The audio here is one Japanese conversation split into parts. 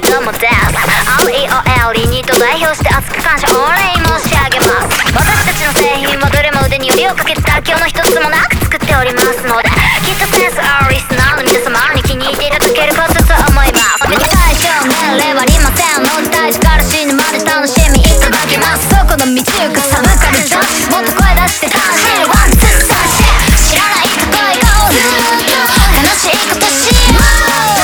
いどもです。 REOL にと代表して熱く感謝御礼申し上げます。私たちの製品はどれも腕によりをかけて妥協の一つもなく作っておりますので、きっとセンスあるリスナーの皆様に気に入っていただけることと思います。最小年齢はありませんので、大事から死ぬまで楽しみいただきます。そこの道行くサブカル女子、もっと声出して楽しいワンツーサンシェ、知らないこと言おう、ずっと楽しいことしよう。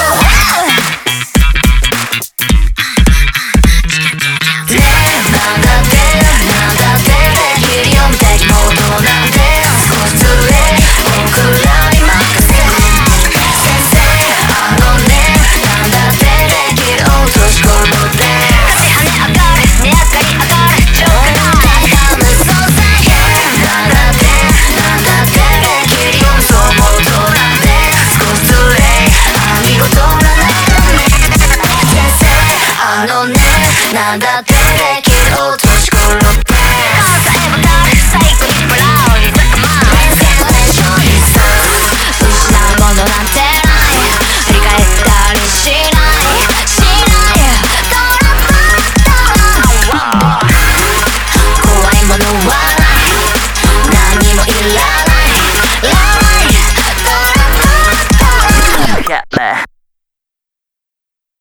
なんだってできるよ無敵モードなんて少しずれ僕らに任せ先生なんだってできる落とし込むで跳ね上がる値上がり上がるジョークの高む存在なんだってできるよそうモードなんて少しずれ見事なね先生なんだってできる